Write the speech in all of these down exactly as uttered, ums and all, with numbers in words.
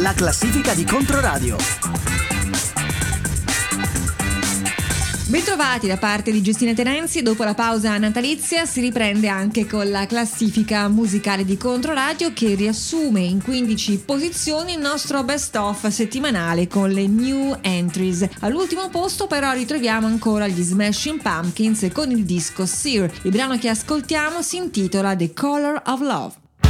la classifica di Controradio. Bentrovati da parte di Giustina Tenenzi. Dopo la pausa natalizia si riprende anche con la classifica musicale di Controradio, che riassume in quindici posizioni il nostro best of settimanale con le new entries. All'ultimo posto però ritroviamo ancora gli Smashing Pumpkins con il disco Sear. Il brano che ascoltiamo si intitola The Color of Love.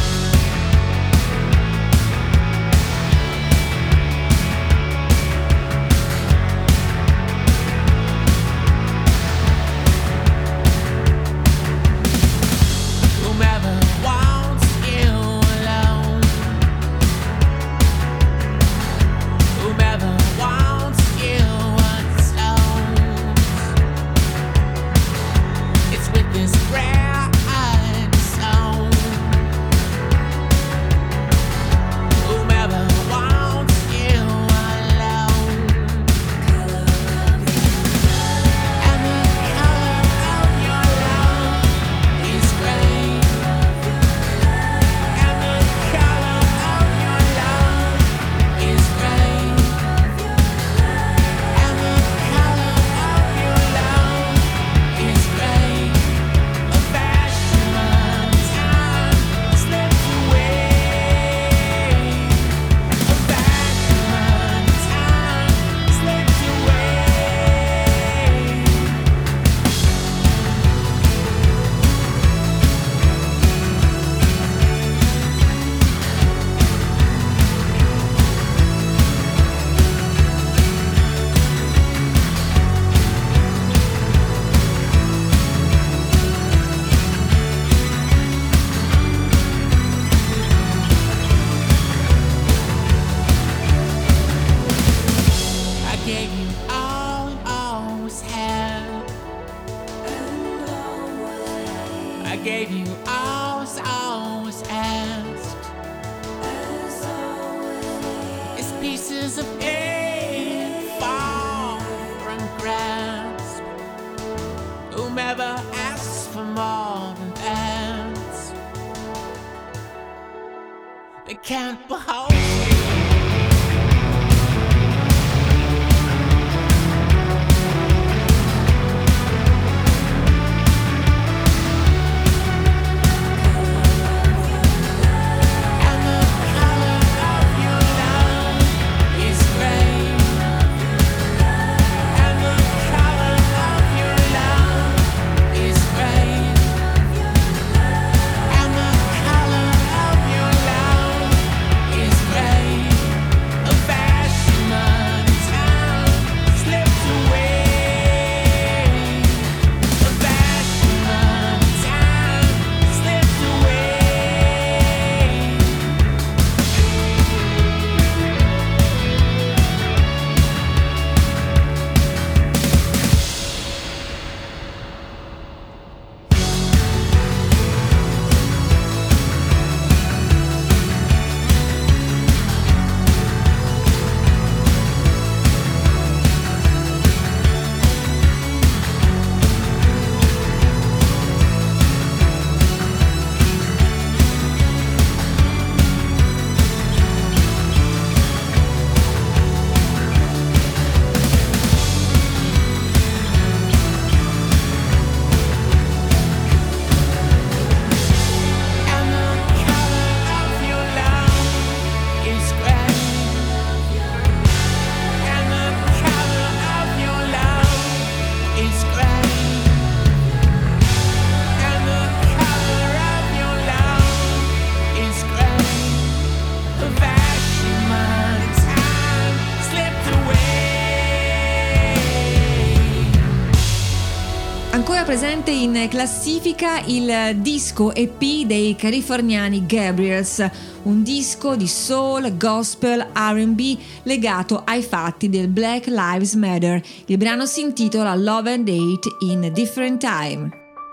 Presente in classifica il disco E P dei californiani Gabriels, un disco di soul, gospel, R and B legato ai fatti del Black Lives Matter. Il brano si intitola Love and Hate in a Different Time.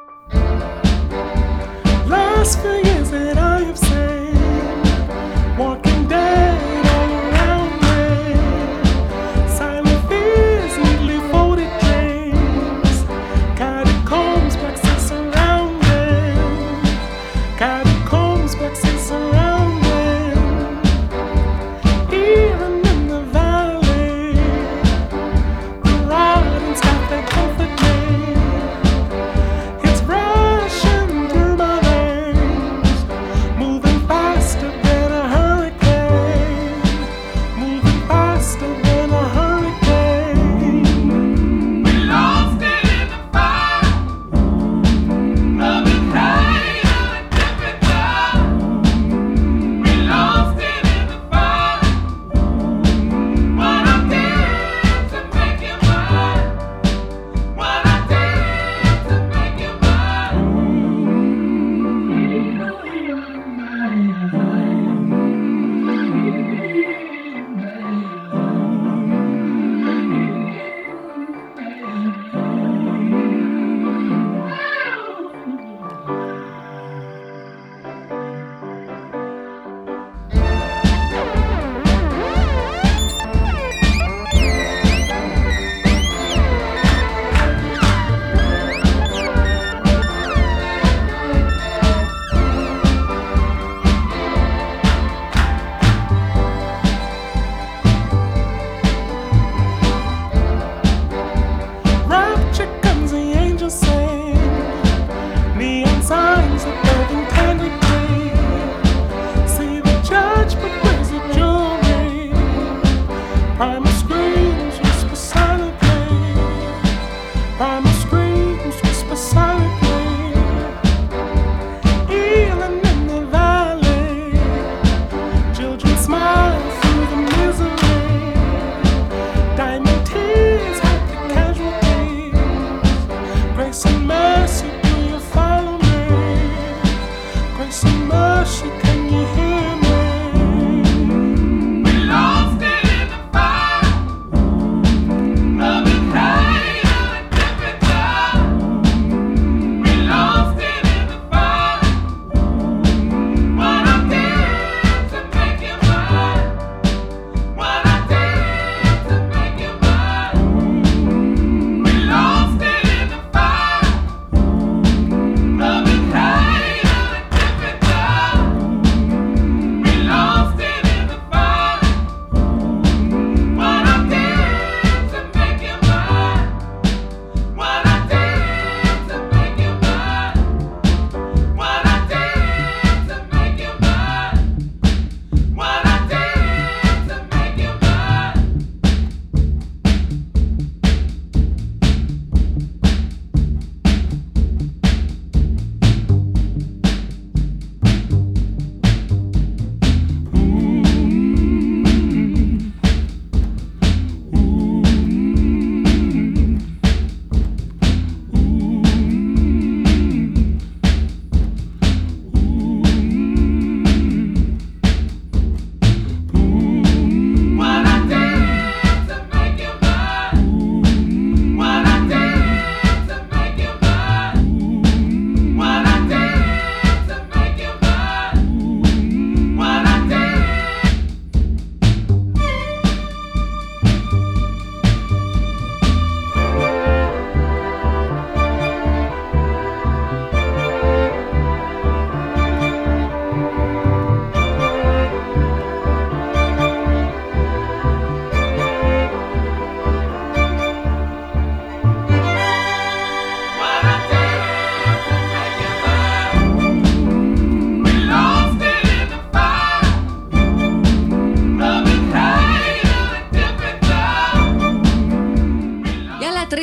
Last few years that I have seen, walking dead all around me, silent fears, neatly folded dreams, catacombs, black sea surrounding, catacombs, black sea surrounding.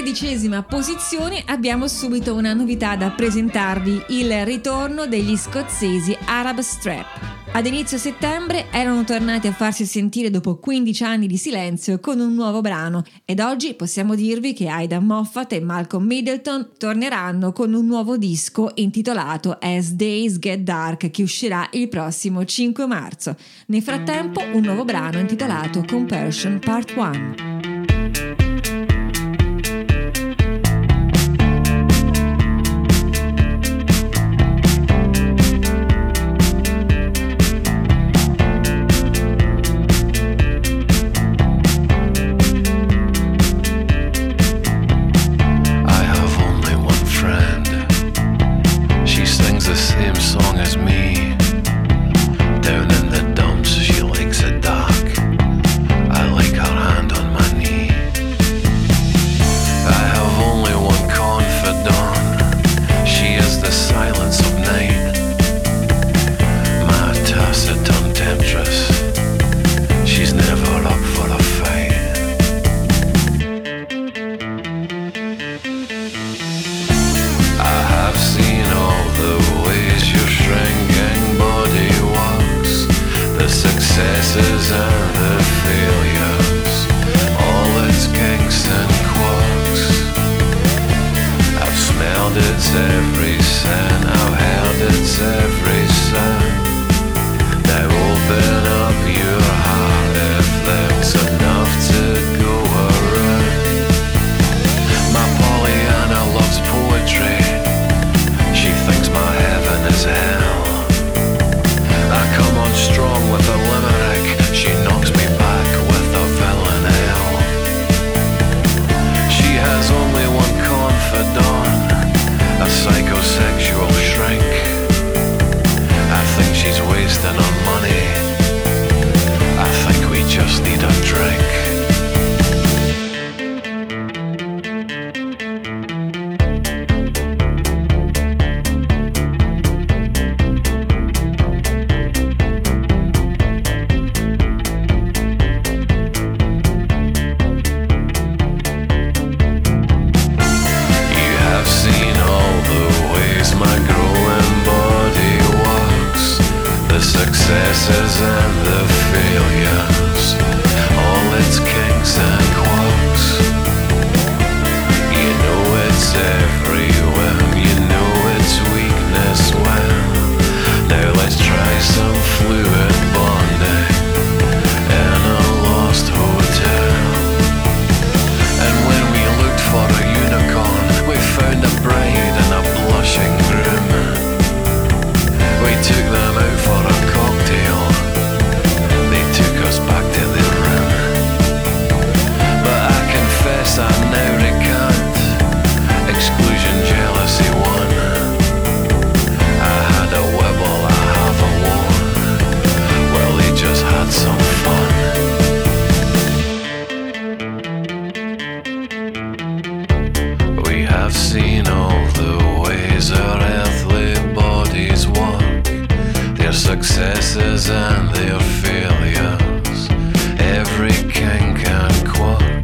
dodicesima posizione abbiamo subito una novità da presentarvi, il ritorno degli scozzesi Arab Strap. Ad inizio settembre erano tornati a farsi sentire dopo quindici anni di silenzio con un nuovo brano ed oggi possiamo dirvi che Aidan Moffat e Malcolm Middleton torneranno con un nuovo disco intitolato As Days Get Dark che uscirà il prossimo cinque marzo. Nel frattempo un nuovo brano intitolato Compersion Part uno. successes and their failures, every kink and quirk.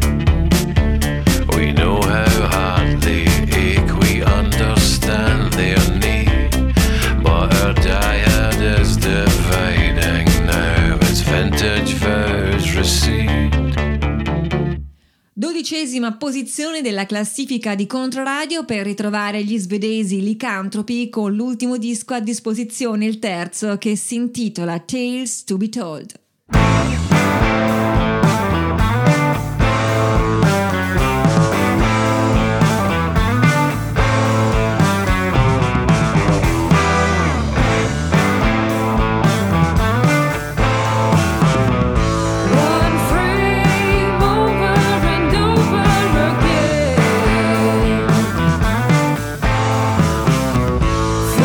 We know how hard they ache, we understand their need, but our dyad is dividing now, its vintage vows recede. Dodicesima posizione della classifica di Controradio per ritrovare gli svedesi Lycanthropy con l'ultimo disco a disposizione, il terzo, che si intitola Tales to be Told.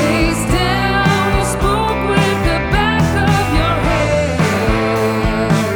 Face down, you spoke with the back of your head.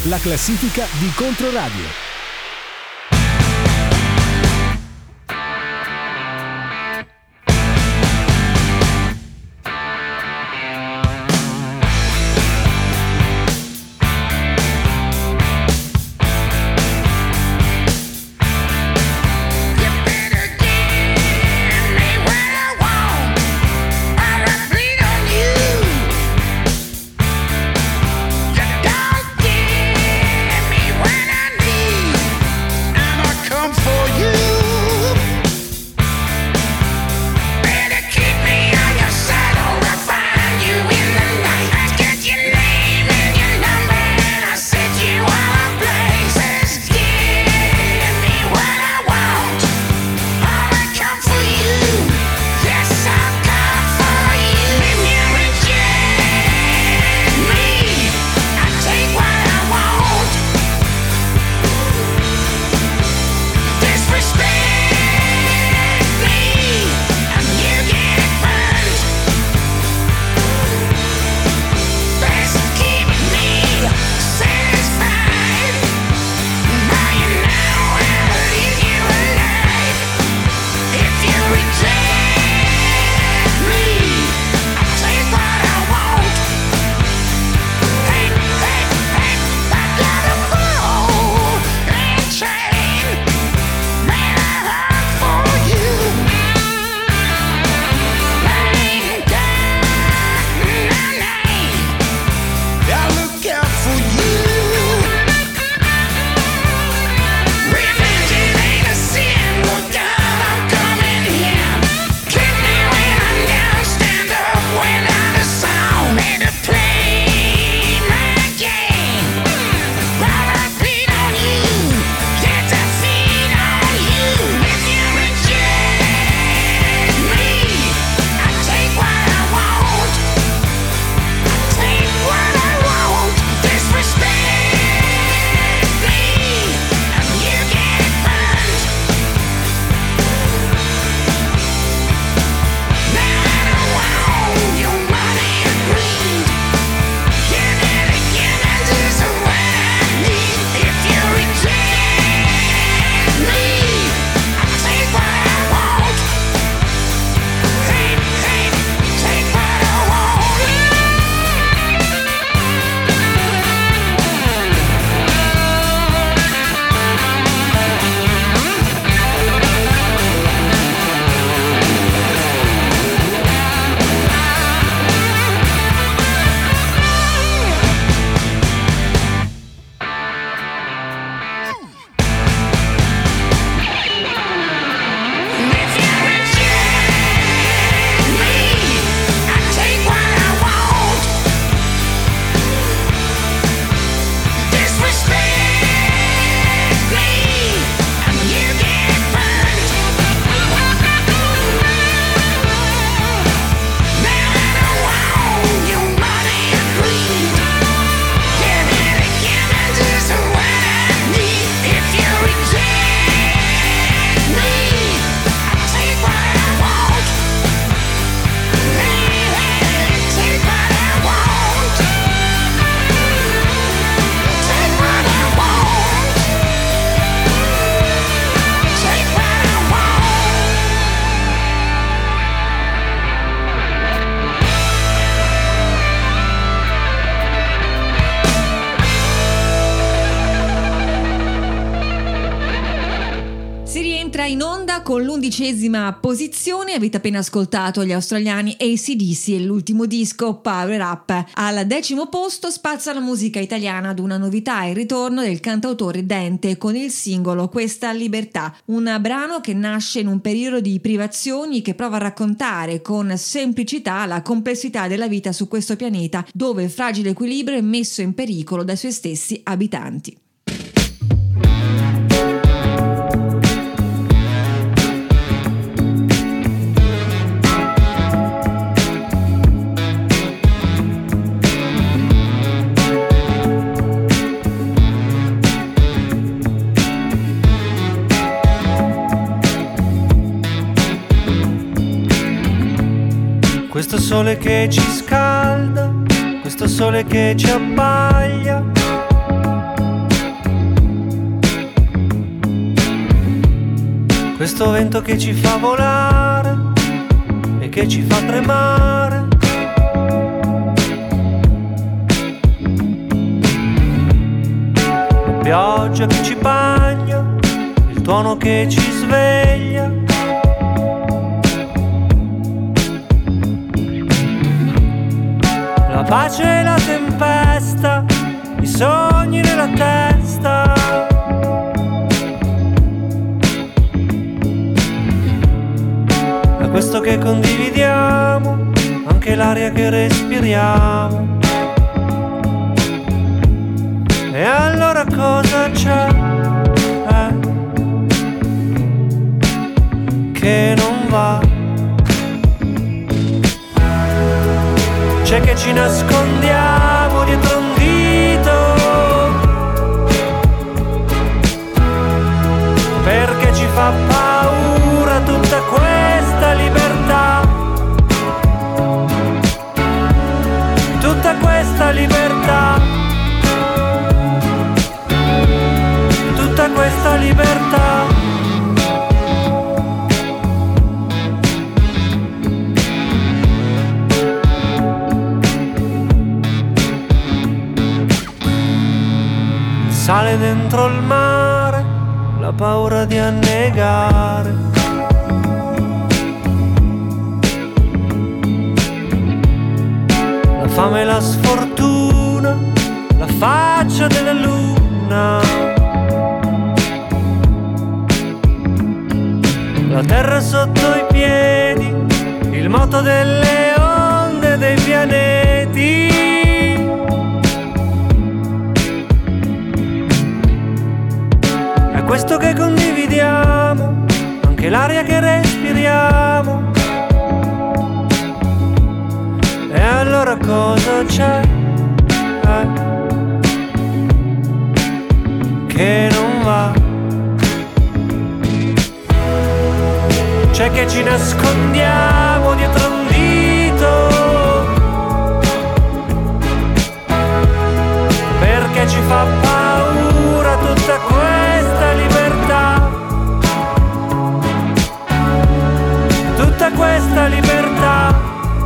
la classifica di Controradio. In onda con l'undicesima posizione. Avete appena ascoltato gli australiani A C D C e l'ultimo disco Power Up. Al decimo posto spazza la musica italiana ad una novità, il ritorno del cantautore Dente con il singolo Questa Libertà, un brano che nasce in un periodo di privazioni che prova a raccontare con semplicità la complessità della vita su questo pianeta dove il fragile equilibrio è messo in pericolo dai suoi stessi abitanti. Questo sole che ci scalda, questo sole che ci abbaglia, questo vento che ci fa volare e che ci fa tremare. La pioggia che ci bagna, il tuono che ci sveglia. La pace e la tempesta, i sogni nella testa. Da questo che condividiamo, anche l'aria che respiriamo. E allora cosa c'è? Eh, che non va. C'è che ci nascondiamo dietro un dito, perché ci fa paura tutta questa libertà. Tutta questa libertà. Tutta questa libertà. Sale dentro il mare la paura di annegare. La fame e la sfortuna, la faccia della luna. La terra sotto i piedi, il moto delle onde dei pianeti. È questo che condividiamo, anche l'aria che respiriamo. E allora cosa c'è? Eh, che non va. C'è che ci nascondiamo dietro un dito, perché ci fa paura tutta questa libertà. Tutta questa libertà.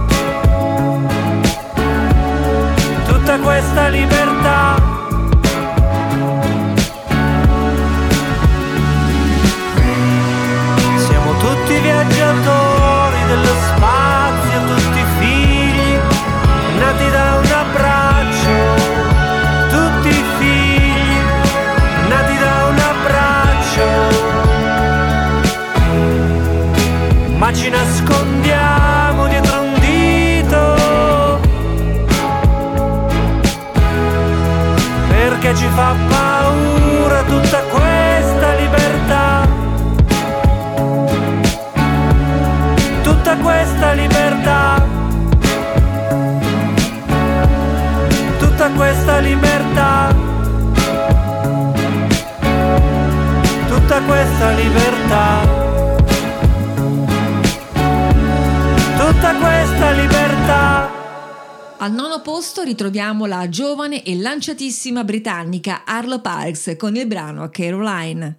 Tutta questa libertà. Tutti viaggiatori dello spazio, tutti figli nati da un abbraccio. Tutti figli nati da un abbraccio. Ma ci nascondiamo dietro un dito, perché ci fa paura tutta questa libertà. Tutta questa libertà. Tutta questa libertà. Tutta questa libertà. Tutta questa libertà. Al nono posto ritroviamo la giovane e lanciatissima britannica Arlo Parks con il brano Caroline.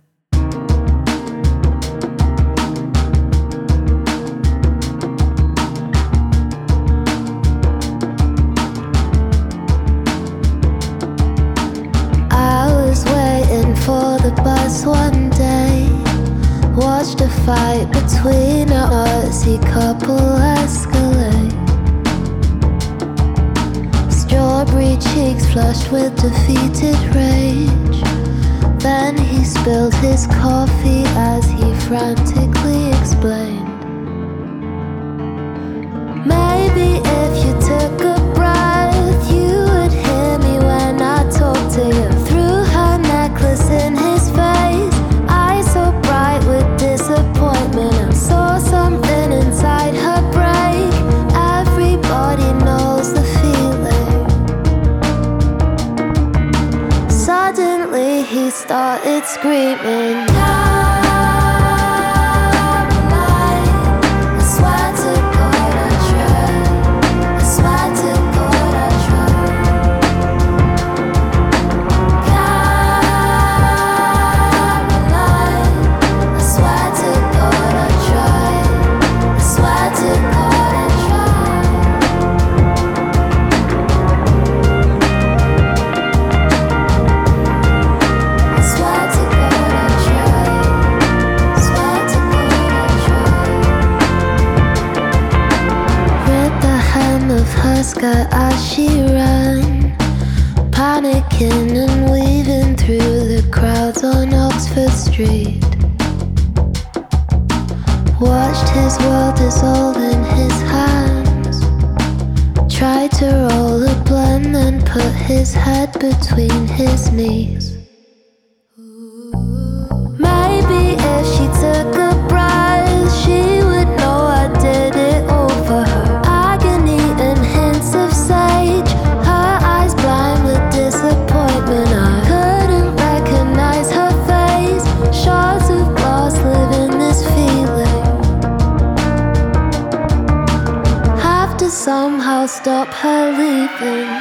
For the bus one day, watched a fight between a Aussie couple escalate. Strawberry cheeks flushed with defeated rage. Then he spilled his coffee as he frantically explained. Maybe if you took a breath, you would hear me when I talk to you. Through her necklace in his face, eyes so bright with disappointment. I saw something inside her break. Everybody knows the feeling. Suddenly he started screaming. To panicking and weaving through the crowds on Oxford Street. Watched his world dissolve in his hands. Tried to roll a blunt and put his head between his knees. Maybe if she took a breath, she would know I did it all for her. Agony and hints of sage, her eyes blind with disappointment. I couldn't recognize her face. Shards of glass live in this feeling. Have to somehow stop her leaving.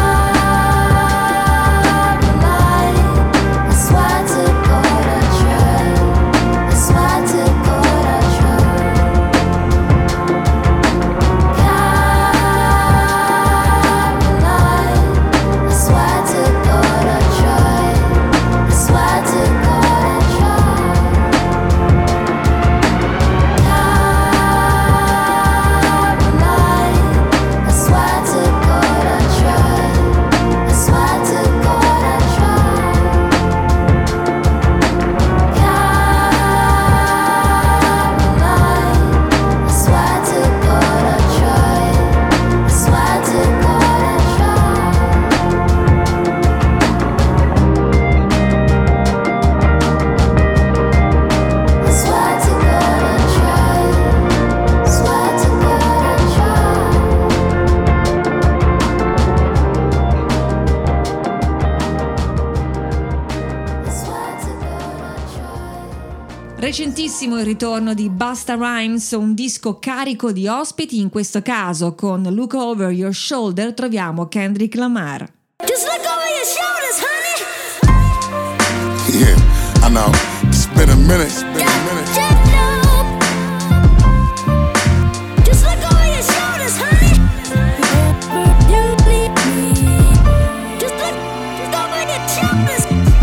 Recentissimo il ritorno di Busta Rhymes, un disco carico di ospiti. In questo caso con Look Over Your Shoulder troviamo Kendrick Lamar. Just look over your shoulders, honey. Yeah, I know. It's been a minute. It's been a minute. Just look over your shoulders, honey. You bleed me. Just look, look over your shoulders.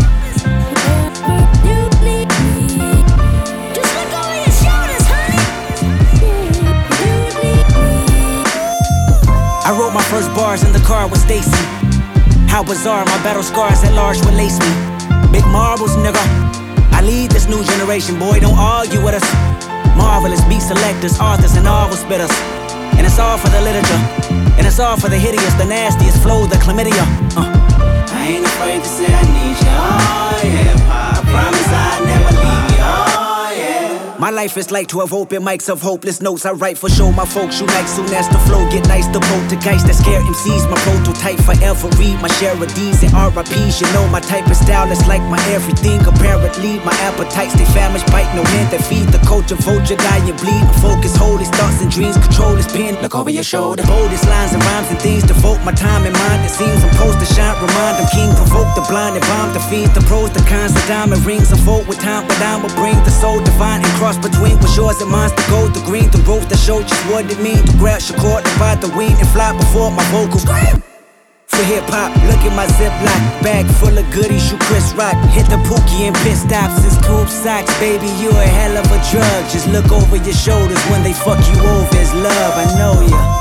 You bleed me. Just look over your shoulders, honey. You bleed me. I wrote my first bars in the car with Stacy. How bizarre, my battle scars at large will lace me. Big marbles, nigga. I lead this new generation, boy, don't argue with us. Marvelous beat selectors, authors, and novel spitters. And it's all for the literature. And it's all for the hideous, the nastiest flow, the chlamydia. uh. I ain't afraid to say I need you, oh yeah. I promise I'll never leave you, oh yeah. My life is like twelve open mics of hopeless notes I write for show. My folks unite soon as the flow get nice. The poltergeist that scare M Cs, my prototype forever read my share of D's and R I P's. You know my type of style is like my everything. Apparently my appetites stay famished, bite no hand that feed the culture. Vulture, die and bleed. Focus, hold his thoughts and dreams, control his pen. Look over your shoulder. Boldest lines and rhymes and things. Devote my time and mind. It seems I'm supposed to shine. Remind them king, provoke the blind and bomb the fiends. The pros, the cons, the diamond rings. Unfold with time, but I will bring the soul divine and cross between what's yours and mine's. The gold, the green, the rose that show just what it means. To grab your cord, divide the wing and fly before my vocals. Scream! For hip-hop, look at my Ziploc bag full of goodies, you Chris Rock. Hit the Pookie and pit stops and scoop socks. Baby, you a hell of a drug. Just look over your shoulders when they fuck you over. It's love, I know ya.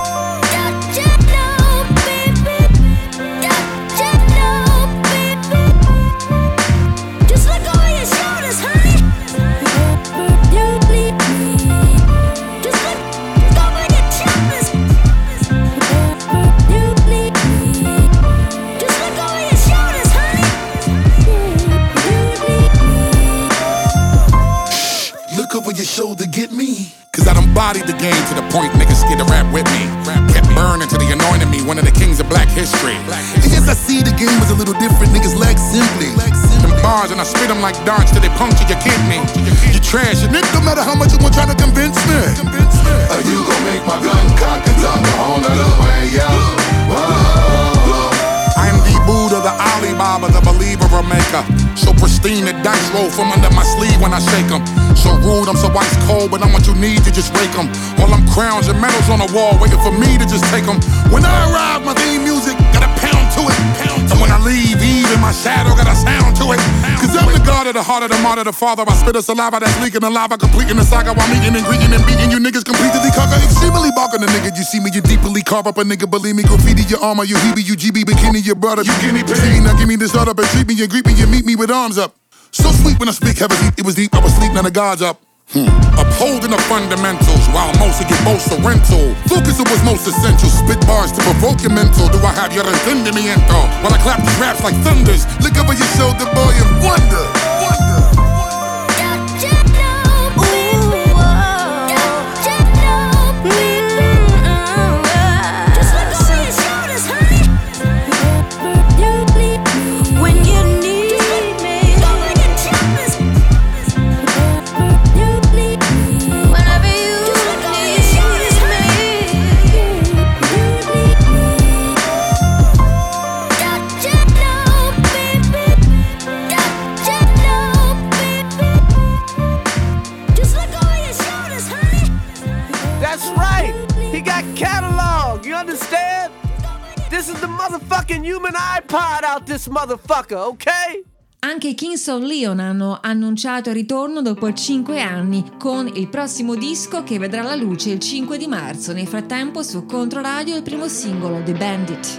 Shoulder get me, cause I done bodied the game to the point niggas scared to rap with me. Kept burning till they anointed me one of the kings of black history. And yes, I see the game was a little different, niggas lack simply. Them bars and I spit them like darts till they puncture your kidney. You trash, and it no matter how much you want trying to convince me. Are you gon' make my gun cock and talk a whole nother way, yo? I am the Buddha, the Alibaba, the believer, a maker. So pristine, the dice roll from under my sleeve when I shake them. So rude, I'm so ice cold, but I'm what you need to just rake them. All them crowns and medals on the wall, waiting for me to just take them. When I arrive, my theme music got a pound to it. Pound to and when I leave, even my shadow got a sound to it. Cause I'm the god of the heart of the martyr, the father. I spit a saliva that's leaking the lava, completing the saga while meeting and greeting and beating you niggas completely conquer. Extremely barking the nigga, you see me, you deeply carve up a nigga. Believe me, graffiti your armor, you Hebe, you G B, bikini, your brother. You guinea pig. Now give me this start up and treat me and greet me and meet me with arms up. So sweet when I speak heavy, it was deep, I was sleep, now the gods up. Hmm. Upholding the fundamentals while most of get most rental. Focus it was most essential. Spit bars to provoke your mental. Do I have your entendimiento? While I clap these raps like thunders, look over your shoulder, boy, and wonder. Wonder. This is the motherfucking human iPod out this motherfucker, ok? Anche i Kings of Leon hanno annunciato il ritorno dopo cinque anni con il prossimo disco che vedrà la luce il cinque di marzo. Nel frattempo su Controradio il primo singolo, The Bandit.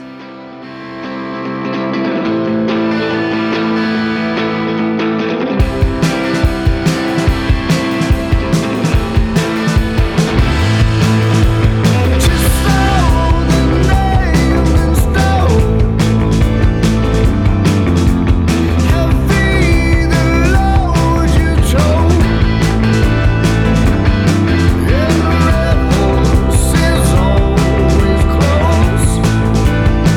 Always close.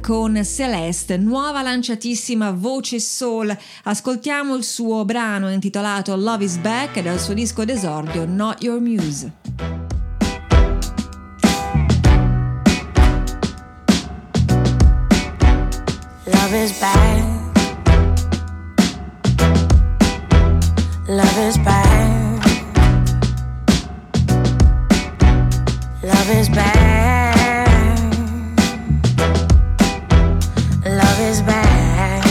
con Celeste, nuova lanciatissima voce soul. Ascoltiamo il suo brano intitolato Love is Back dal suo disco d'esordio Not Your Muse. Love is back. Love is back. Love is back. Love is back.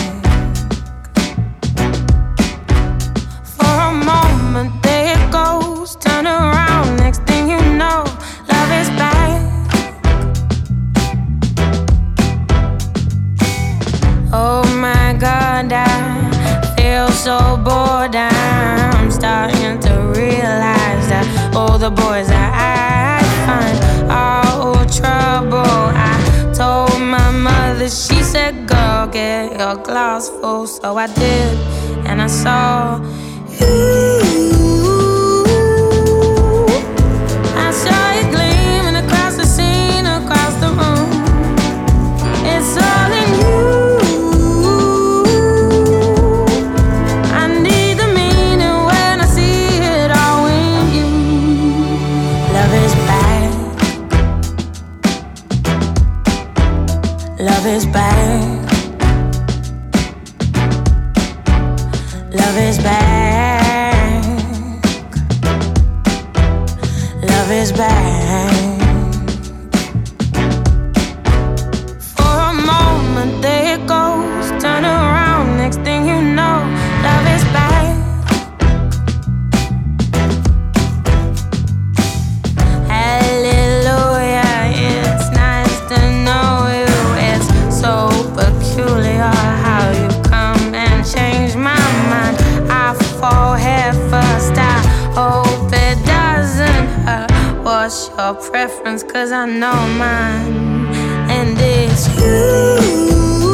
For a moment there it goes, turn around, next thing you know, love is back. Oh my God, I feel so bored. I'm starting to realize that all the boys that I find are all trouble. I told my mother, she said, girl, get your glass full. So I did, and I saw you. I saw it gleaming across the scene, across the room. It's all in you. Love is back. Love is back. Love is back. For a moment there it goes, turn around, next thing you know, love is back. Hallelujah, it's nice to know you. So peculiar how you come and change my mind. I fall head first, I hope it doesn't hurt. What's your preference? Cause I know mine, and it's you.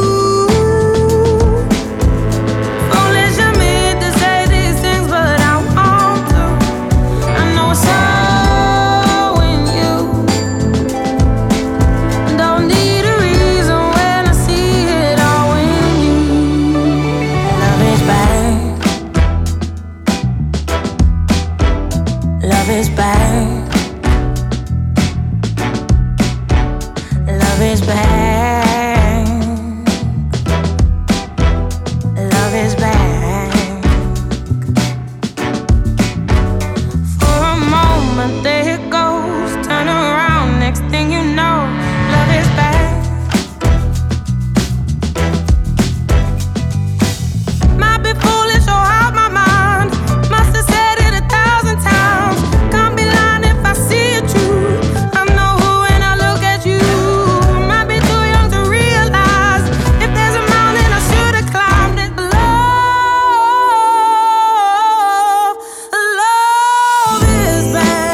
Foolish of me to say these things, but I want to. I know it's so in you. Don't need a reason. Love is back. Love is back. Love is back. For a moment there it goes, turn around, next thing you know, love is back. Might be foolish or out my mind, must have said it a thousand times. Can't be lying if I see it true. I know who when I look at you. Might be too young to realize if there's a mountain I should have climbed it. Love, love is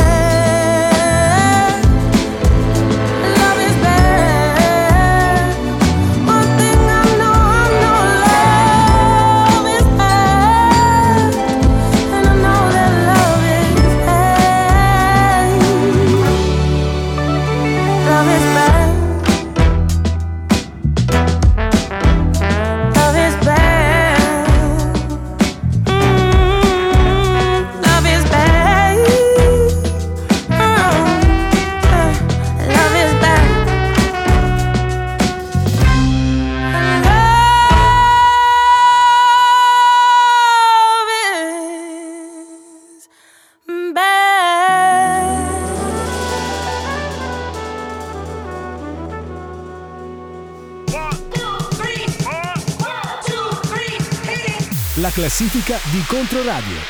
bad. Love is bad. One thing I know, I know love is bad. And I know that love is bad. Love is bad. Love is bad. Mm, love is bad. Mm, love is bad. Love is bad. La classifica di Controradio.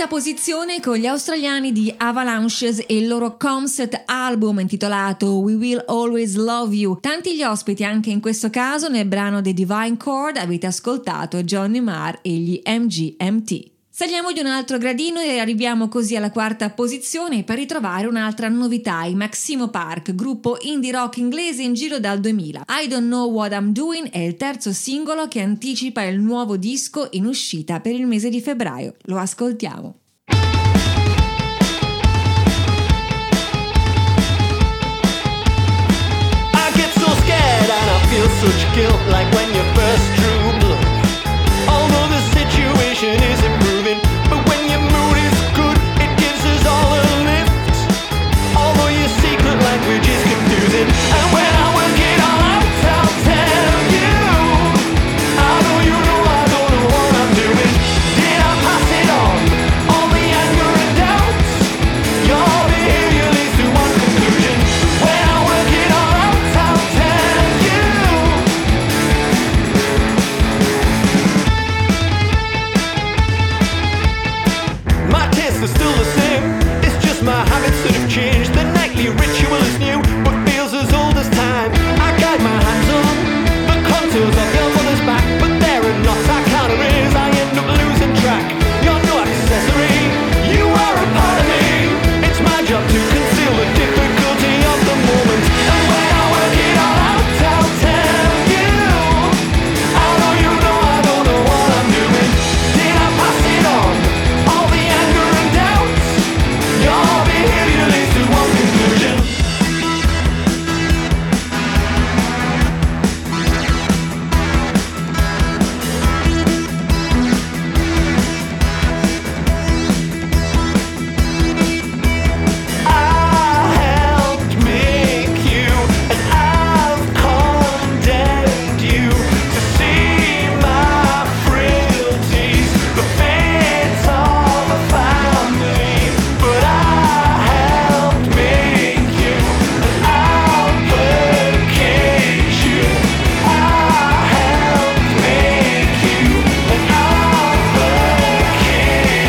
Quinta posizione con gli australiani di Avalanches e il loro concept album intitolato We Will Always Love You. Tanti gli ospiti anche in questo caso. Nel brano The Divine Chord avete ascoltato Johnny Marr e gli M G M T. Saliamo di un altro gradino e arriviamo così alla quarta posizione per ritrovare un'altra novità, i Maximo Park, gruppo indie rock inglese in giro dal duemila. I Don't Know What I'm Doing è il terzo singolo che anticipa il nuovo disco in uscita per il mese di febbraio. Lo ascoltiamo. I get so scared and I feel such guilt, like when you first drew blood. Although the situation is improving, but when your mood is good, it gives us all a lift. Although your secret language is confusing, and when I work it all out, I'll tell you. I know you know I don't know what I'm doing. Did I pass it on? All the anger and doubts. Your behavior leads to one conclusion. When I work it all out, I'll tell you. My tastes are still the same, it's just my habits that have changed. The nightly ritual is new, but feels as old as time. I guide my hands on the contours of your mother's back, but there are knots I can't erase, I end up losing track. You're no accessory, you are a part of me. It's my job to conceal the difficulty of the moment, and when I work it all out, I'll tell you. I know you know I don't know what I'm doing. Did I pass it on? All the anger and doubts. Your behavior leads to one conclusion. I helped make you, and I've condemned you to see my frailties, the fate of a family. But I helped make you, and I'll placate you. I helped make you, and I'll placate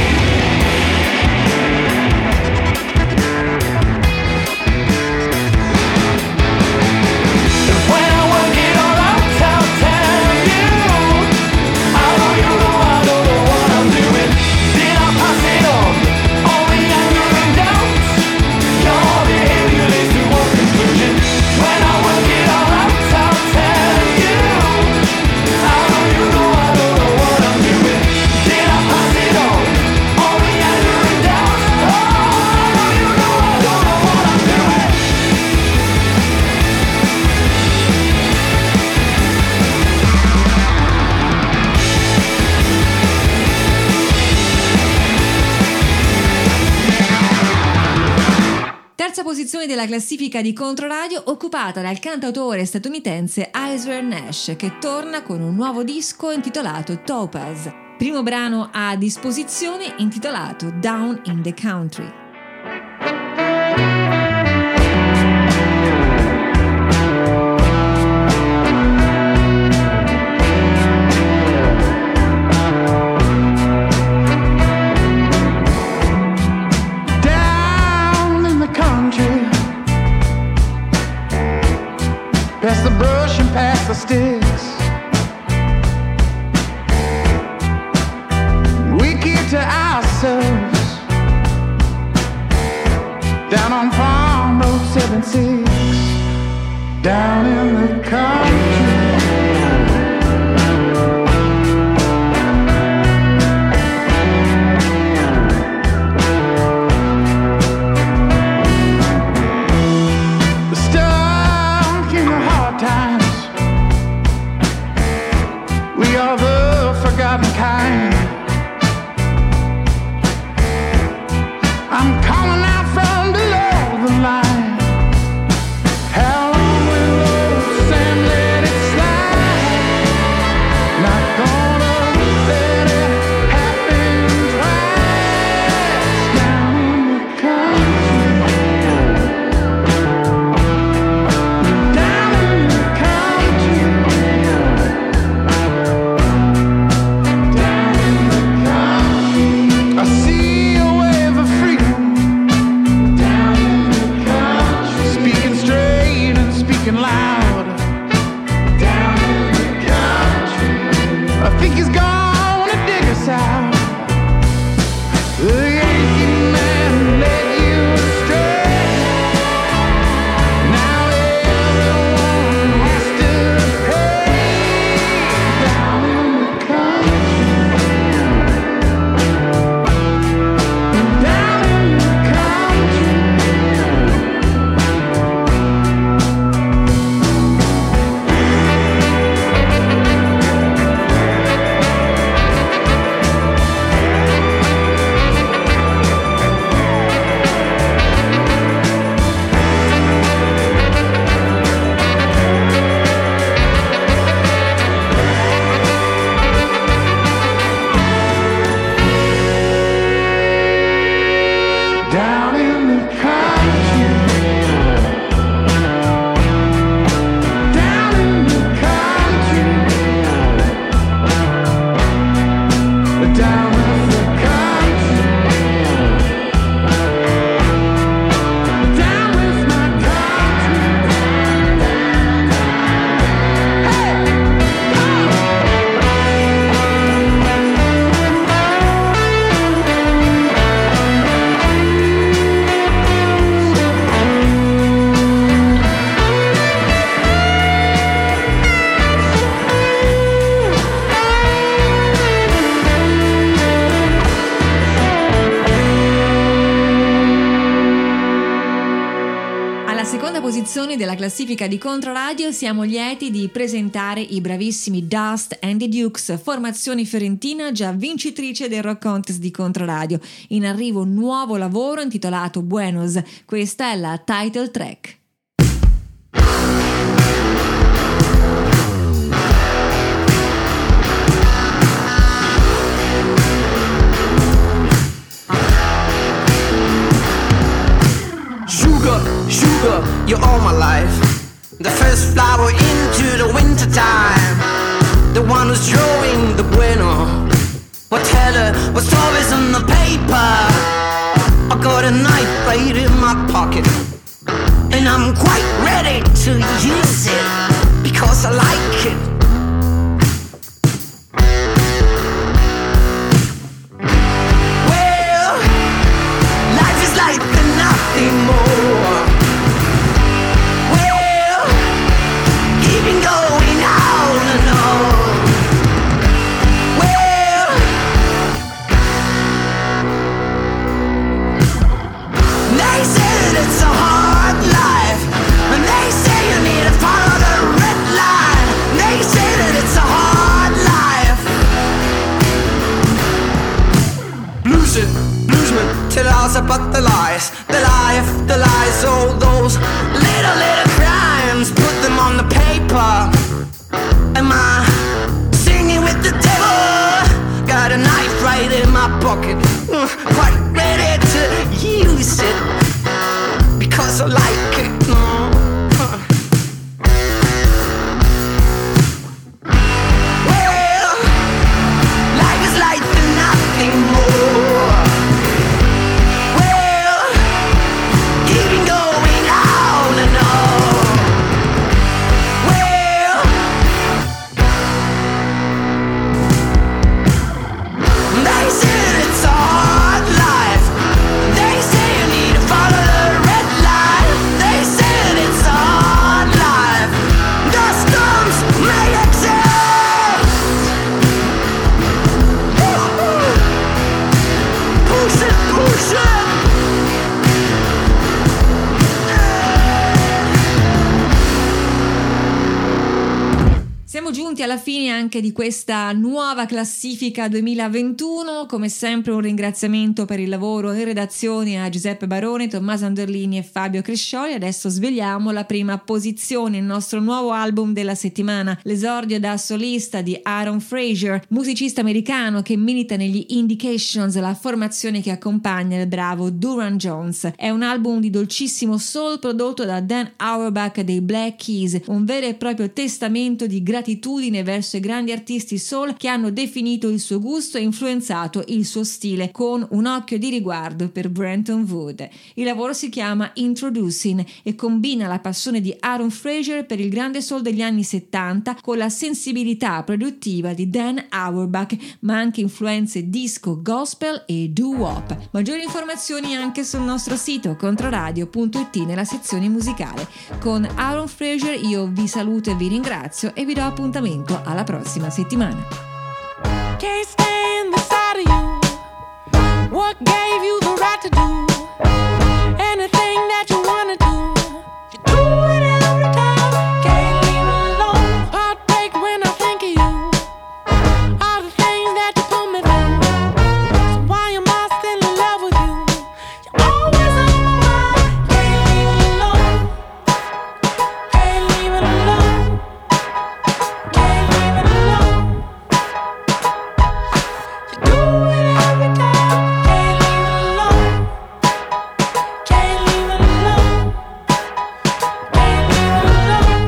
you. When I work it all out, I'll tell you. I know you know I don't know what I'm doing. Did I pass it on? All the anger and doubts. Your behavior leads to one conclusion. When I work it all out, I'll tell you. I know you know I don't know what I'm doing. Did I pass it on? All the anger and doubts. Oh, I know you know I don't know what I'm doing. Terza posizione della classifica di Controradio, occupata dal cantautore statunitense Isaiah Nash, che torna con un nuovo disco intitolato Topaz. Primo brano a disposizione intitolato Down in the Country. Down in the country, past the brush and past the sticks, we keep to ourselves. Down on Farm Road seven six, down in the country. Stuck in the hard times, we are the forgotten kind. I'm calling out from below the line. How long will old Sam live? loud down in the country. I think he's gonna dig us out. The Yankee man led you astray. Now everyone has to pay down in the country. Down in the country. Down in the country. Down in the country. Down in the country. Down with my country. Alla seconda posizione della classifica di Controradio siamo lieti di presentare i bravissimi Dust and the Dukes, formazione fiorentina già vincitrice del Rock Contest di Controradio. In arrivo un nuovo lavoro intitolato Buenos, questa è la title track. Sugar, sugar, you're all my life. The first flower into the winter time. The one who's drawing the bueno. What teller, what stories on the paper. I got a knife right in my pocket. And I'm quite ready to use it. Because I like it. Well, life is like nothing more. Well, keeping going on and on. Well, they say that it's a hard life, and they say you need to follow the red line. They say that it's a hard life. Blues it, bluesman, tell us about the lies. The life, the lies, all those little, little crimes. Put them on the paper. Am I singing with the devil? Got a knife right in my pocket. uh, Quite ready to use it. Because I like it. uh, uh. Well, life is like nothing more. Well, keeping going on and on. Well, they say it's a hard life. They say you need to follow the red line. They say it's a hard life. The storms may exist. Push it, push it. Siamo giunti alla fine anche di questa nuova classifica duemilaventuno. Come sempre un ringraziamento per il lavoro in redazione a Giuseppe Barone, Tommaso Anderlini e Fabio Crescioli. Adesso svegliamo la prima posizione, il nostro nuovo album della settimana, l'esordio da solista di Aaron Frazier, musicista americano che milita negli Indications, la formazione che accompagna il bravo Duran Jones. È un album di dolcissimo soul prodotto da Dan Auerbach dei Black Keys, un vero e proprio testamento di gratitudine gratitudine verso i grandi artisti soul che hanno definito il suo gusto e influenzato il suo stile, con un occhio di riguardo per Brenton Wood. Il lavoro si chiama Introducing e combina la passione di Aaron Fraser per il grande soul degli anni settanta con la sensibilità produttiva di Dan Auerbach, ma anche influenze disco, gospel e doo-wop. Maggiori informazioni anche sul nostro sito controradio punto it nella sezione musicale. Con Aaron Fraser io vi saluto e vi ringrazio e vi do appuntamento alla prossima settimana. Can't stand the sight of you. What gave you the right to do anything that you wanna do? You do it every time. Can't leave it alone. Heartbreak when I think of you. All the things that you put me through. So why am I still in love with you? You're always on my mind. Can't leave it alone. Can't leave it alone. Can't leave it alone. You do it every time. Can't leave it alone. Can't leave it alone. Can't leave it alone.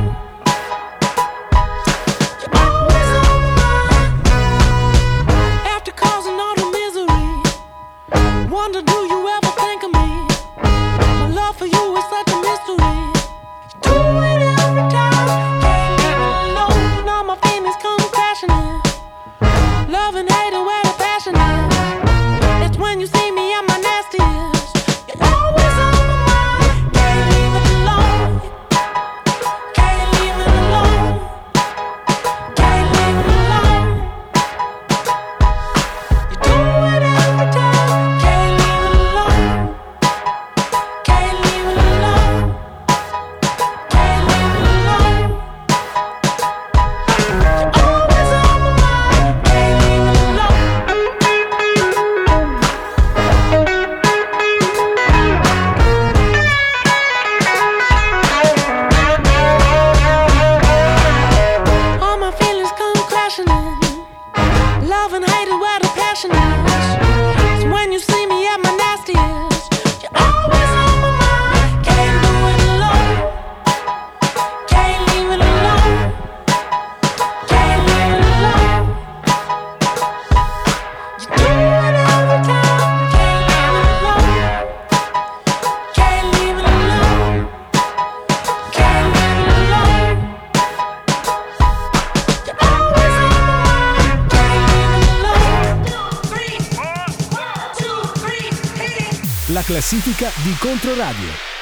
You're always on my mind. After causing all the misery, wonder do you ever think of me? My love for you is such a mystery. You do it every time. Can't leave it alone. All my feelings come crashing in. Love and hate and where the passion is. It's when you see me at my nastiest. You're always on my mind. Can't leave it alone. Can't leave it alone. Can't leave it alone. You do it every time. Can't leave it alone. Can't leave it alone. Can't leave it alone. You're always on my mind. Can't leave it alone. All my feelings come crashing in. Love and hate is where the passion is. It's when you see me at my nastiest. You're always on my mind. Can't do it alone. Can't leave it alone. Can't leave it alone. You do it every time. Can't leave it alone. Can't leave it alone. Can't leave it alone. You're always on my mind. Can't leave it alone. La classifica di Controradio.